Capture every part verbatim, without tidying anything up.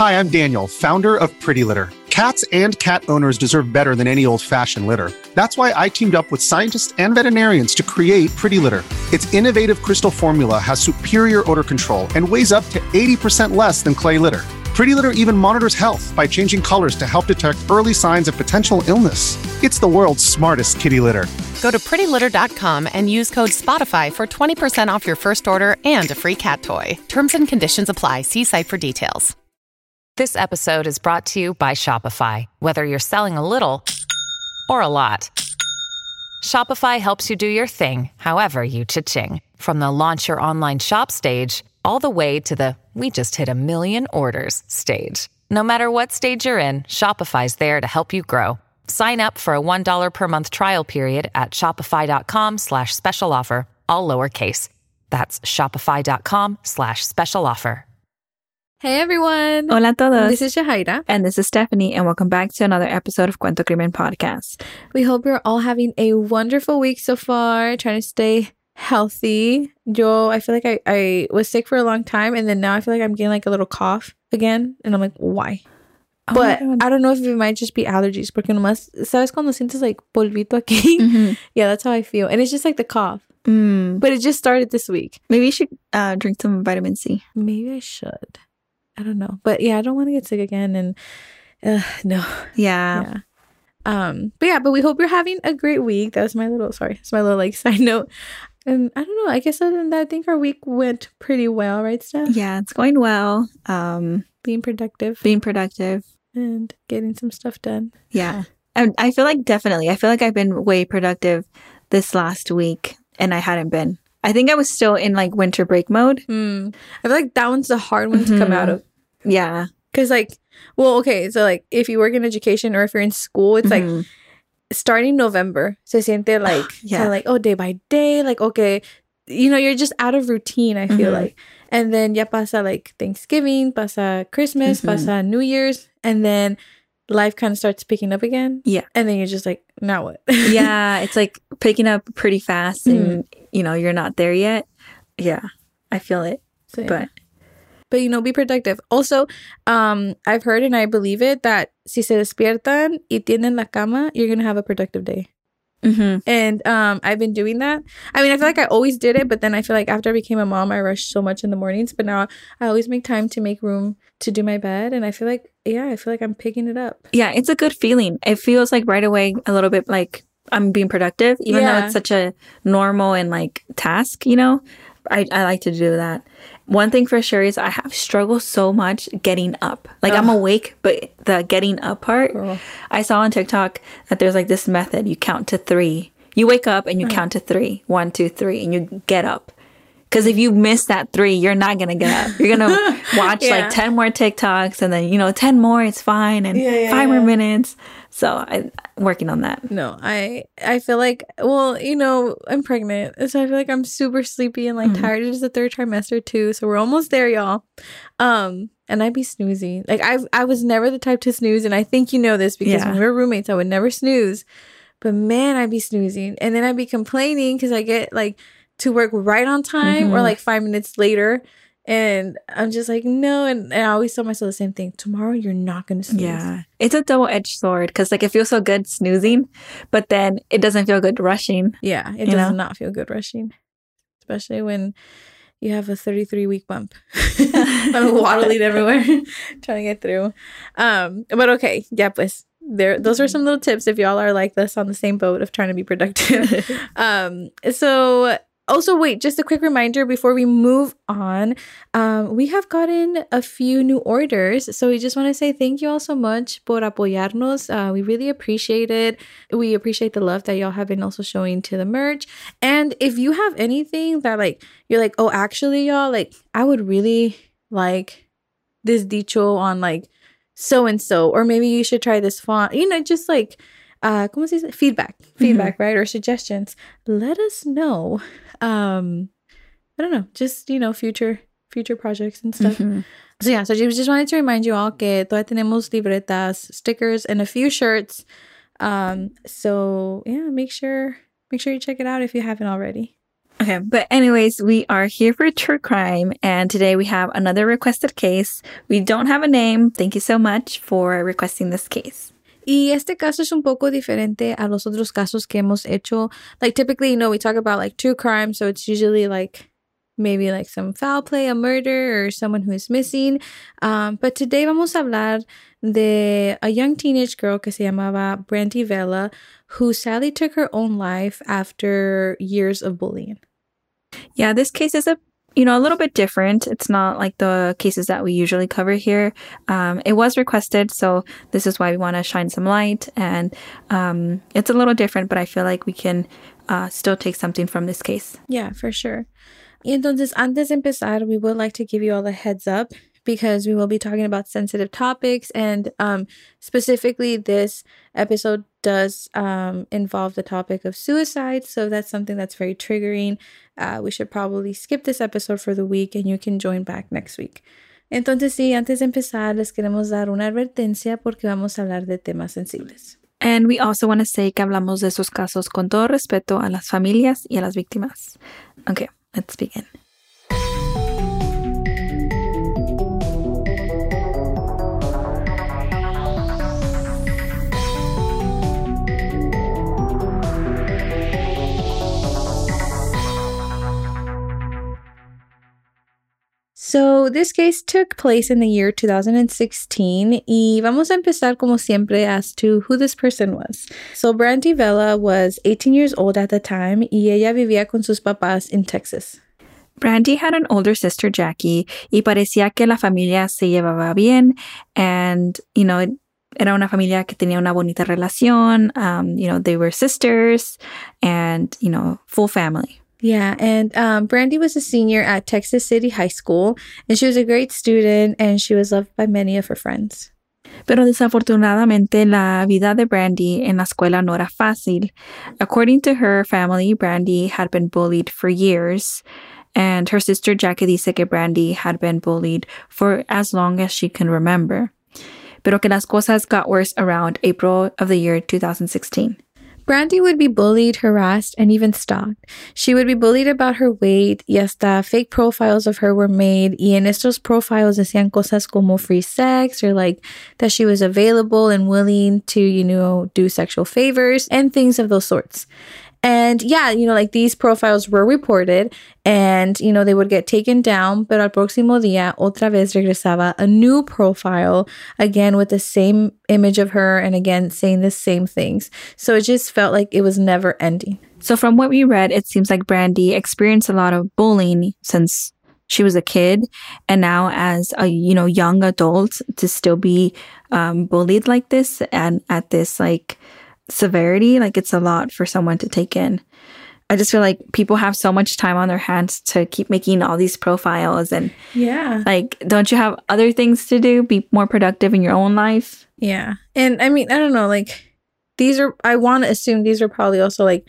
Hi, I'm Daniel, founder of Pretty Litter. Cats and cat owners deserve better than any old-fashioned litter. That's why I teamed up with scientists and veterinarians to create Pretty Litter. Its innovative crystal formula has superior odor control and weighs up to eighty percent less than clay litter. Pretty Litter even monitors health by changing colors to help detect early signs of potential illness. It's the world's smartest kitty litter. Go to pretty litter dot com and use code SPOTIFY for twenty percent off your first order and a free cat toy. Terms and conditions apply. See site for details. This episode is brought to you by Shopify. Whether you're selling a little or a lot, Shopify helps you do your thing, however you cha-ching. From the launch your online shop stage, all the way to the we just hit a million orders stage. No matter what stage you're in, Shopify's there to help you grow. Sign up for a one dollar per month trial period at shopify.com slash special offer, all lowercase. That's shopify.com slash special offer. Hey everyone! Hola a todos. This is Shahaira. And this is Stephanie, and welcome back to another episode of Cuento Crimen Podcast. We hope you're all having a wonderful week so far, trying to stay healthy. Yo, I feel like I, I was sick for a long time, and then now I feel like I'm getting like a little cough again, and I'm like, why? Oh, but I don't know if it might just be allergies, porque nomás, ¿sabes cuando sientes like polvito aquí? Mm-hmm. Yeah, that's how I feel. And it's just like the cough. Mm. But it just started this week. Maybe you should uh, drink some vitamin C. Maybe I should. I don't know. But yeah, I don't want to get sick again. And uh, no. Yeah. yeah. Um. But yeah, but we hope you're having a great week. That was my little, sorry. That's my little like side note. And I don't know. I guess other than that, I think our week went pretty well, right, Steph? Yeah, it's going well. Um, Being productive. Being productive. And getting some stuff done. Yeah. And I feel like definitely, I feel like I've been way productive this last week, and I hadn't been. I think I was still in like winter break mode. Mm. I feel like that one's the hard one mm-hmm. to come out of. Yeah. Because like, well, okay. So like if you work in education or if you're in school, it's mm-hmm. like starting November. Se siente like, yeah. kind of like, oh, day by day. Like, okay, you know, you're just out of routine, I feel mm-hmm. like. And then ya pasa like Thanksgiving, pasa Christmas, mm-hmm. pasa New Year's. And then life kind of starts picking up again. Yeah. And then you're just like, now what? Yeah. It's like picking up pretty fast and, mm. you know, you're not there yet. Yeah. I feel it. So, yeah. But, but, you know, be productive. Also, um, I've heard and I believe it that si se despiertan y tienen la cama, you're going to have a productive day. Mm-hmm. And um, I've been doing that. I mean, I feel like I always did it, but then I feel like after I became a mom, I rushed so much in the mornings. But now I always make time to make room to do my bed. And I feel like, yeah, I feel like I'm picking it up. Yeah, it's a good feeling. It feels like right away a little bit like I'm being productive, even yeah. though it's such a normal and like task, you know? I, I like to do that. One thing for sure is I have struggled so much getting up. Like, Ugh. I'm awake, but the getting up part, Girl. I saw on TikTok that there's like this method. You count to three. You wake up and you uh-huh. count to three. One, two, three. And you get up. Because if you miss that three, you're not going to get up. You're going to watch yeah. like ten more TikToks and then, you know, ten more, it's fine. And yeah, yeah, five yeah. more minutes. So I'm working on that. No, I I feel like, well, you know, I'm pregnant. So I feel like I'm super sleepy and like mm-hmm. tired. It's the third trimester too. So we're almost there, y'all. Um, and I'd be snoozing. Like I I was never the type to snooze. And I think you know this because yeah. when we were roommates, I would never snooze. But man, I'd be snoozing. And then I'd be complaining because I get like to work right on time mm-hmm. or like five minutes later. And I'm just like, no. And, and I always tell myself the same thing. Tomorrow, you're not going to snooze. Yeah. It's a double-edged sword because like it feels so good snoozing, but then it doesn't feel good rushing. Yeah. It does know? not feel good rushing. Especially when you have a thirty-three week bump. I'm waddling everywhere trying to get through. Um, but okay. Yeah, pues. There, those are some little tips if y'all are like this on the same boat of trying to be productive. um, so... Also, wait, just a quick reminder before we move on. Um, we have gotten a few new orders. So we just want to say thank you all so much por apoyarnos. Uh, we really appreciate it. We appreciate the love that y'all have been also showing to the merch. And if you have anything that like, you're like, oh, actually, y'all, like, I would really like this dicho on like so-and-so. Or maybe you should try this font. You know, just like... Uh, ¿cómo se dice? Feedback, feedback, mm-hmm. right? Or suggestions. Let us know. Um, I don't know, just, you know, future, future projects and stuff. Mm-hmm. So yeah, so just wanted to remind you all que todavía tenemos libretas, stickers, and a few shirts. Um, so yeah, make sure, make sure you check it out if you haven't already. Okay, but anyways, we are here for True Crime, and today we have another requested case. We don't have a name. Thank you so much for requesting this case. Y este caso es un poco diferente a los otros casos que hemos hecho. Like, typically, you know, we talk about, like, true crime, so it's usually, like, maybe, like, some foul play, a murder, or someone who is missing. Um, but today vamos a hablar de a young teenage girl que se llamaba Brandy Vela, who sadly took her own life after years of bullying. Yeah, this case is a you know, a little bit different. It's not like the cases that we usually cover here. Um, it was requested, so this is why we want to shine some light. And um, it's a little different, but I feel like we can uh, still take something from this case. Yeah, for sure. Y entonces, antes de empezar, we would like to give you all a heads up because we will be talking about sensitive topics. And um, specifically, this episode does um, involve the topic of suicide. So that's something that's very triggering. Uh, we should probably skip this episode for the week and you can join back next week. Entonces, sí, antes de empezar, les queremos dar una advertencia porque vamos a hablar de temas sensibles. And we also want to say que hablamos de estos casos con todo respeto a las familias y a las víctimas. Okay, let's begin. So this case took place in the year two thousand sixteen y vamos a empezar como siempre as to who this person was. So Brandy Vela was eighteen years old at the time y ella vivía con sus papás in Texas. Brandy had an older sister, Jackie, y parecía que la familia se llevaba bien and, you know, era una familia que tenía una bonita relación. Um, you know, they were sisters and, you know, full family. Yeah, and um, Brandy was a senior at Texas City High School, and she was a great student, and she was loved by many of her friends. Pero desafortunadamente, la vida de Brandy en la escuela no era fácil. According to her family, Brandy had been bullied for years, and her sister Jackie dice que Brandy had been bullied for as long as she can remember. Pero que las cosas got worse around April of the year two thousand sixteen. Brandy would be bullied, harassed, and even stalked. She would be bullied about her weight y hasta fake profiles of her were made. Y en estos profiles decían cosas como free sex or like that she was available and willing to, you know, do sexual favors and things of those sorts. And yeah, you know, like these profiles were reported and, you know, they would get taken down, pero al próximo día otra vez regresaba a new profile, again with the same image of her and again saying the same things. So it just felt like it was never ending. So from what we read, it seems like Brandy experienced a lot of bullying since she was a kid, and now as a, you know, young adult to still be um, bullied like this and at this like severity, like it's a lot for someone to take in. I just feel like people have so much time on their hands to keep making all these profiles and yeah, like, don't you have other things to do? Be more productive in your own life. Yeah. And I mean, I don't know, like these are, I want to assume these are probably also like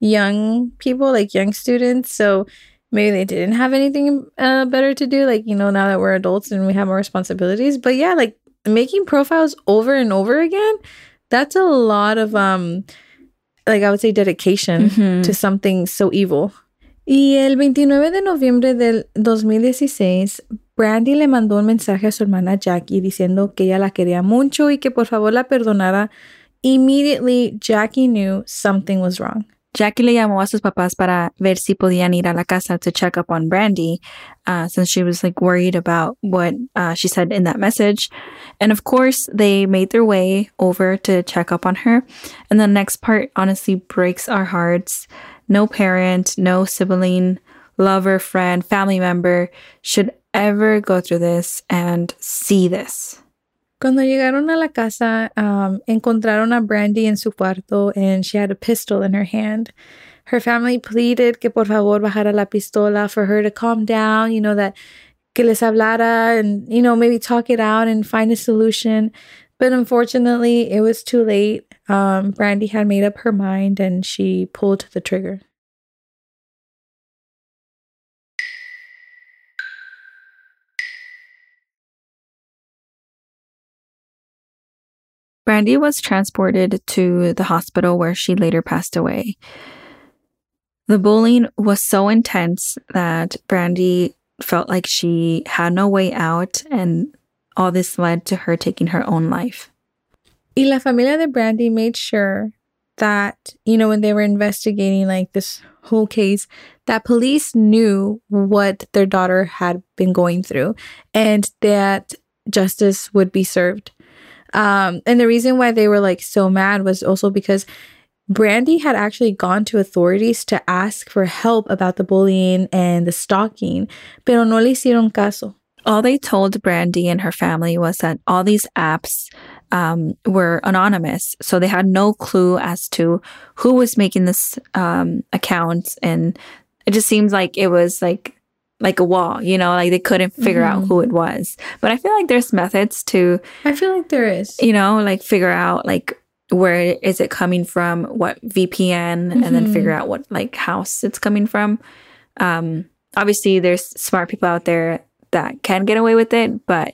young people, like young students. So maybe they didn't have anything uh, better to do. Like, you know, now that we're adults and we have more responsibilities, but yeah, like making profiles over and over again, that's a lot of, um, like I would say, dedication mm-hmm. to something so evil. Y el veintinueve de noviembre del dos mil dieciséis, Brandy le mandó un mensaje a su hermana Jackie diciendo que ella la quería mucho y que por favor la perdonara. Immediately, Jackie knew something was wrong. Jackie le llamó a sus papás para ver si podían ir a la casa to check up on Brandy, uh, since she was like worried about what uh, she said in that message. And of course, they made their way over to check up on her. And the next part honestly breaks our hearts. No parent, no sibling, lover, friend, family member should ever go through this and see this. Cuando llegaron a la casa, um, encontraron a Brandy en su cuarto and she had a pistol in her hand. Her family pleaded que por favor bajara la pistola for her to calm down, you know, that que les hablara and, you know, maybe talk it out and find a solution. But unfortunately, it was too late. Um, Brandy had made up her mind and she pulled the trigger. Brandy was transported to the hospital where she later passed away. The bullying was so intense that Brandy felt like she had no way out, and all this led to her taking her own life. Y la familia de Brandy made sure that, you know, when they were investigating like this whole case, that police knew what their daughter had been going through and that justice would be served. Um, and the reason why they were like so mad was also because Brandy had actually gone to authorities to ask for help about the bullying and the stalking, pero no le hicieron caso. All they told Brandy and her family was that all these apps um, were anonymous. So they had no clue as to who was making this um, account. And it just seems like it was like like a wall, you know, like they couldn't figure mm-hmm. out who it was. But I feel like there's methods to... I feel like there is. You know, like figure out like where is it coming from, what V P N, mm-hmm. and then figure out what like house it's coming from. Um, obviously, there's smart people out there that can get away with it, but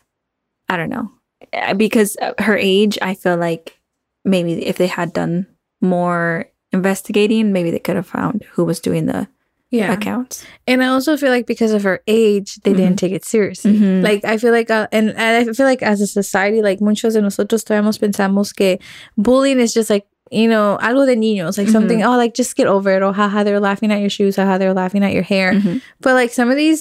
I don't know. Because her age, I feel like maybe if they had done more investigating, maybe they could have found who was doing the yeah. accounts. And I also feel like because of her age, they mm-hmm. didn't take it seriously. Mm-hmm. Like, I feel like, uh, and, and I feel like as a society, like, muchos de nosotros todavía pensamos que bullying is just like, you know, algo de niños, like mm-hmm. something, oh, like, just get over it. Or, haha, they're laughing at your shoes. Haha, they're laughing at your hair. Mm-hmm. But, like, some of these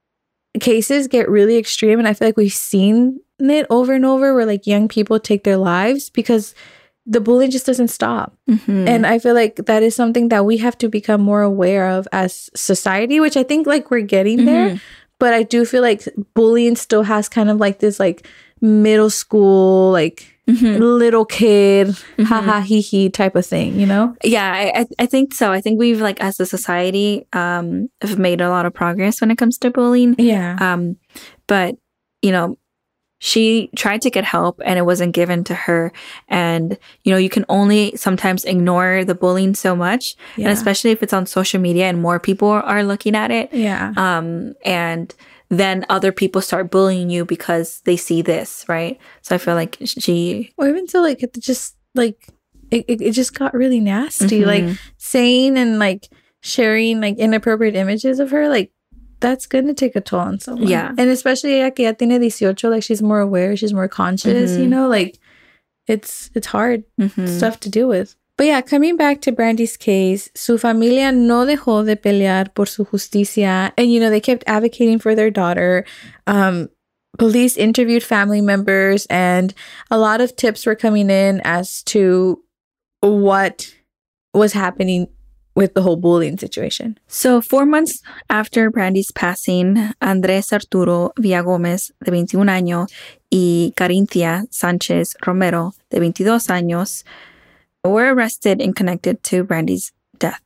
cases get really extreme. And I feel like we've seen it over and over where, like, young people take their lives because the bullying just doesn't stop. Mm-hmm. And I feel like that is something that we have to become more aware of as society, which I think like we're getting mm-hmm. there. But I do feel like bullying still has kind of like this like middle school, like mm-hmm. little kid, mm-hmm. ha ha he he type of thing, you know? Yeah, I I think so. I think we've like as a society um have made a lot of progress when it comes to bullying. Yeah. Um, but you know, she tried to get help and it wasn't given to her. And, you know, you can only sometimes ignore the bullying so much. Yeah. And especially if it's on social media and more people are looking at it. Yeah. Um, and then other people start bullying you because they see this, right? So I feel like she... Or even so, like, it just, like, it, it, it just got really nasty. Mm-hmm. Like, saying and, like, sharing, like, inappropriate images of her, like, that's going to take a toll on someone. Yeah. And especially ella que ya tiene eighteen, like she's more aware, she's more conscious, mm-hmm. you know, like it's it's hard mm-hmm. stuff to deal with. But yeah, coming back to Brandy's case, su familia no dejó de pelear por su justicia. And, you know, they kept advocating for their daughter. Um, police interviewed family members and a lot of tips were coming in as to what was happening with the whole bullying situation. So, four months after Brandy's passing, Andrés Arturo Villagómez, de veintiún años, y Carinthia Sánchez Romero, de veintidós años, were arrested and connected to Brandy's death.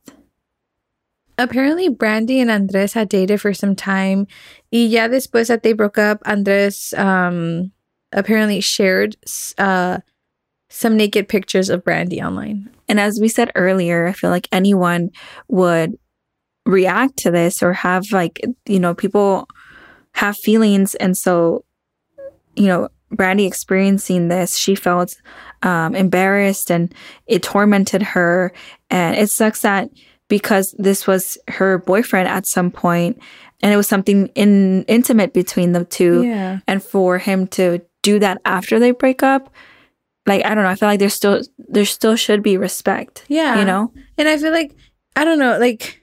Apparently, Brandy and Andrés had dated for some time. Y ya después that they broke up, Andrés um, apparently shared uh, some naked pictures of Brandy online. And as we said earlier, I feel like anyone would react to this or have like, you know, people have feelings. And so, you know, Brandy experiencing this, she felt um, embarrassed and it tormented her. And it sucks that because this was her boyfriend at some point and it was something in, intimate between the two. Yeah. And for him to do that after they break up, like, I don't know, I feel like there's still, there still should be respect. Yeah. You know? And I feel like, I don't know, like,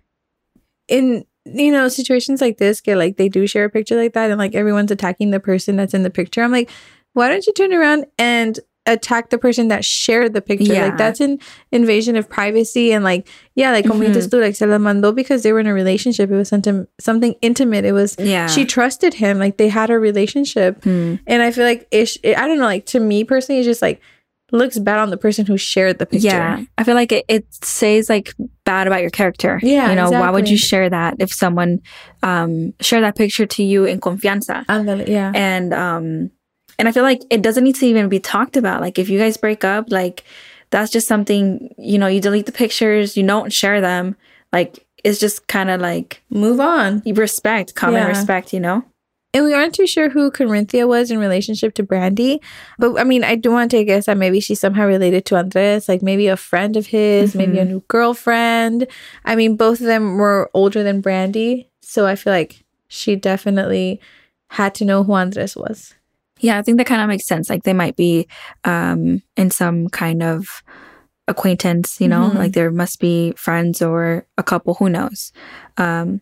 in, you know, situations like this, get like, they do share a picture like that and, like, everyone's attacking the person that's in the picture. I'm like, why don't you turn around and attack the person that shared the picture? Yeah. Like, that's an invasion of privacy. And, like, yeah, like, como dices tú, like, se la mandó because they were in a relationship. It was something, something intimate. It was, yeah. She trusted him. Like, they had a relationship. Mm. And I feel like, ish, it, I don't know, like, to me personally, it's just, like, looks bad on the person who shared the picture. Yeah. I feel like it, it says like bad about your character. Yeah. You know, exactly. Why would you share that if someone um shared that picture to you in confianza? Andale, yeah. And um and I feel like it doesn't need to even be talked about. Like if you guys break up, like that's just something, you know, you delete the pictures, you don't share them. Like it's just kind of like move on. You respect, common yeah. respect, you know? And we aren't too sure who Corinthia was in relationship to Brandy. But I mean, I do want to take a guess that maybe she's somehow related to Andres, like maybe a friend of his, mm-hmm. maybe a new girlfriend. I mean, both of them were older than Brandy. So I feel like she definitely had to know who Andres was. Yeah, I think that kind of makes sense. Like they might be um, in some kind of acquaintance, you know, mm-hmm. like there must be friends or a couple, who knows. Um,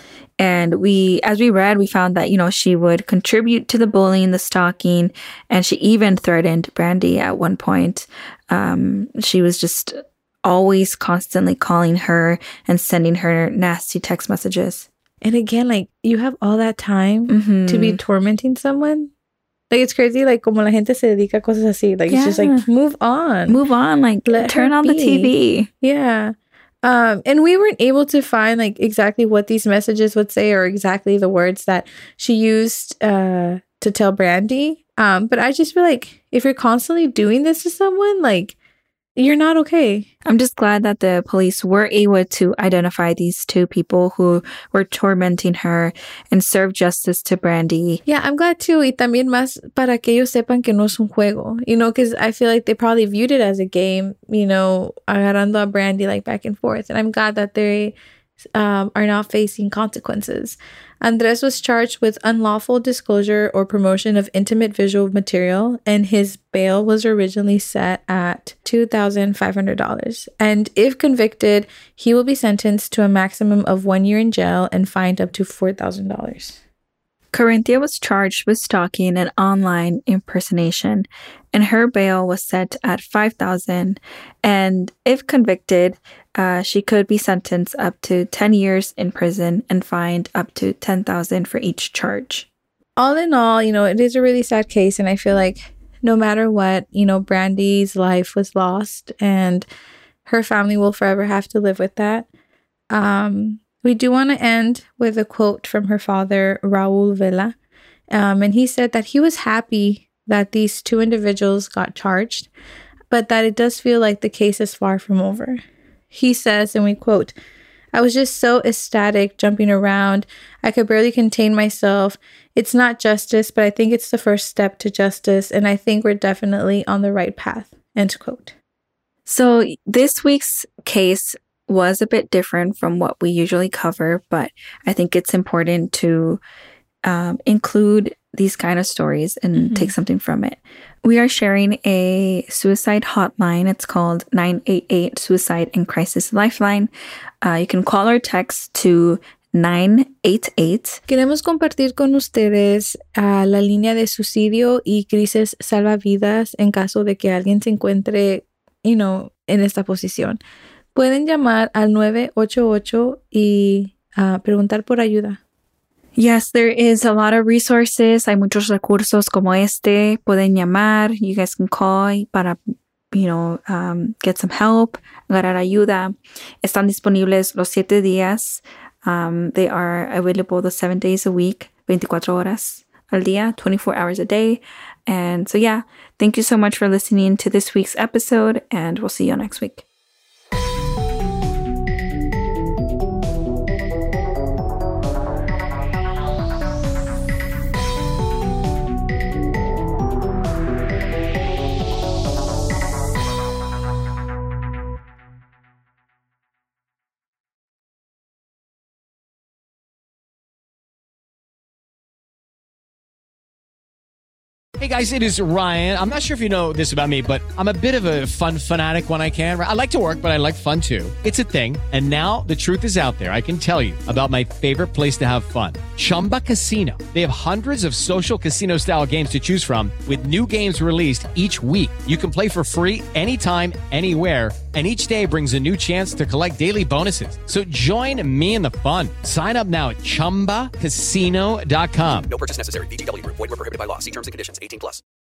and we, as we read, we found that, you know, she would contribute to the bullying, the stalking, and she even threatened Brandy at one point. Um, she was just always constantly calling her and sending her nasty text messages. And again, like, you have all that time mm-hmm. to be tormenting someone. Like, it's crazy, like, como la gente se dedica a cosas así. Like, yeah. It's just like, move on. Move on. Like, Let turn on be. the T V. Yeah. Um, and we weren't able to find, like, exactly what these messages would say or exactly the words that she used uh, to tell Brandy. Um, but I just feel like if you're constantly doing this to someone, like, you're not okay. I'm just glad that the police were able to identify these two people who were tormenting her and serve justice to Brandy. Yeah, I'm glad too. Y también más para que ellos sepan que no es un juego. You know, because I feel like they probably viewed it as a game, you know, agarrando a Brandy like back and forth. And I'm glad that they um, are now facing consequences. Andres was charged with unlawful disclosure or promotion of intimate visual material, and his bail was originally set at two thousand five hundred dollars. And if convicted, he will be sentenced to a maximum of one year in jail and fined up to four thousand dollars. Corinthia was charged with stalking and online impersonation, and her bail was set at five thousand dollars. And if convicted, uh, she could be sentenced up to ten years in prison and fined up to ten thousand dollars for each charge. All in all, you know, it is a really sad case, and I feel like no matter what, you know, Brandy's life was lost, and her family will forever have to live with that. Um... We do want to end with a quote from her father, Raul Vela. Um, and he said that he was happy that these two individuals got charged, but that it does feel like the case is far from over. He says, and we quote, "I was just so ecstatic, jumping around. I could barely contain myself. It's not justice, but I think it's the first step to justice, and I think we're definitely on the right path." End quote. So this week's case was a bit different from what we usually cover, but I think it's important to um, include these kind of stories and mm-hmm. take something from it. We are sharing a suicide hotline. It's called nine eight eight Suicide and Crisis Lifeline. Uh, you can call or text to nine eight eight. Queremos compartir con ustedes uh, la línea de suicidio y crisis salvavidas en caso de que alguien se encuentre, you know, en esta posición. Pueden llamar al nueve ocho ocho y uh, preguntar por ayuda. Yes, there is a lot of resources. Hay muchos recursos como este. Pueden llamar. You guys can call para, you know, um, get some help, agarrar ayuda. Están disponibles los siete días. Um, they are available the seven days a week, veinticuatro horas al día, twenty-four hours a day. And so, yeah, thank you so much for listening to this week's episode, and we'll see you next week. Hey guys, it is Ryan. I'm not sure if you know this about me, but I'm a bit of a fun fanatic when I can. I like to work, but I like fun too. It's a thing. And now the truth is out there. I can tell you about my favorite place to have fun. Chumba Casino. They have hundreds of social casino style games to choose from with new games released each week. You can play for free anytime, anywhere. And each day brings a new chance to collect daily bonuses. So join me in the fun. Sign up now at chumba casino dot com. No purchase necessary. V G W Group. Void where prohibited by law. See terms and conditions. eighteen plus.